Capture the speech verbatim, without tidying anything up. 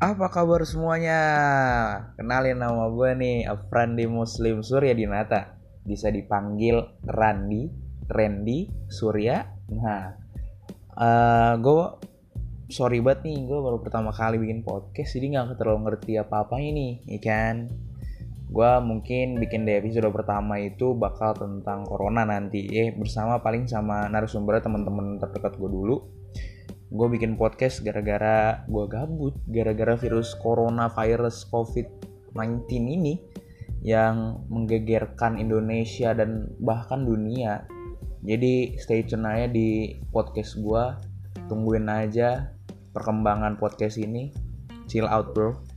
Apa kabar semuanya? Kenalin nama gue nih, Afrandi Muslim Surya Dinata. Bisa dipanggil Randi, Randy, Surya. Nah, eh gue sorry banget nih, gue baru pertama kali bikin podcast, jadi gak terlalu ngerti apa-apanya nih, ya kan? Gue mungkin bikin di episode pertama itu bakal tentang corona nanti, eh bersama paling sama narasumbernya teman-teman terdekat gue dulu. Gue bikin podcast gara-gara gue gabut, gara-gara virus corona virus covid sembilan belas ini yang menggegerkan Indonesia dan bahkan dunia. Jadi stay tune aja di podcast gue, tungguin aja perkembangan podcast ini. Chill out bro.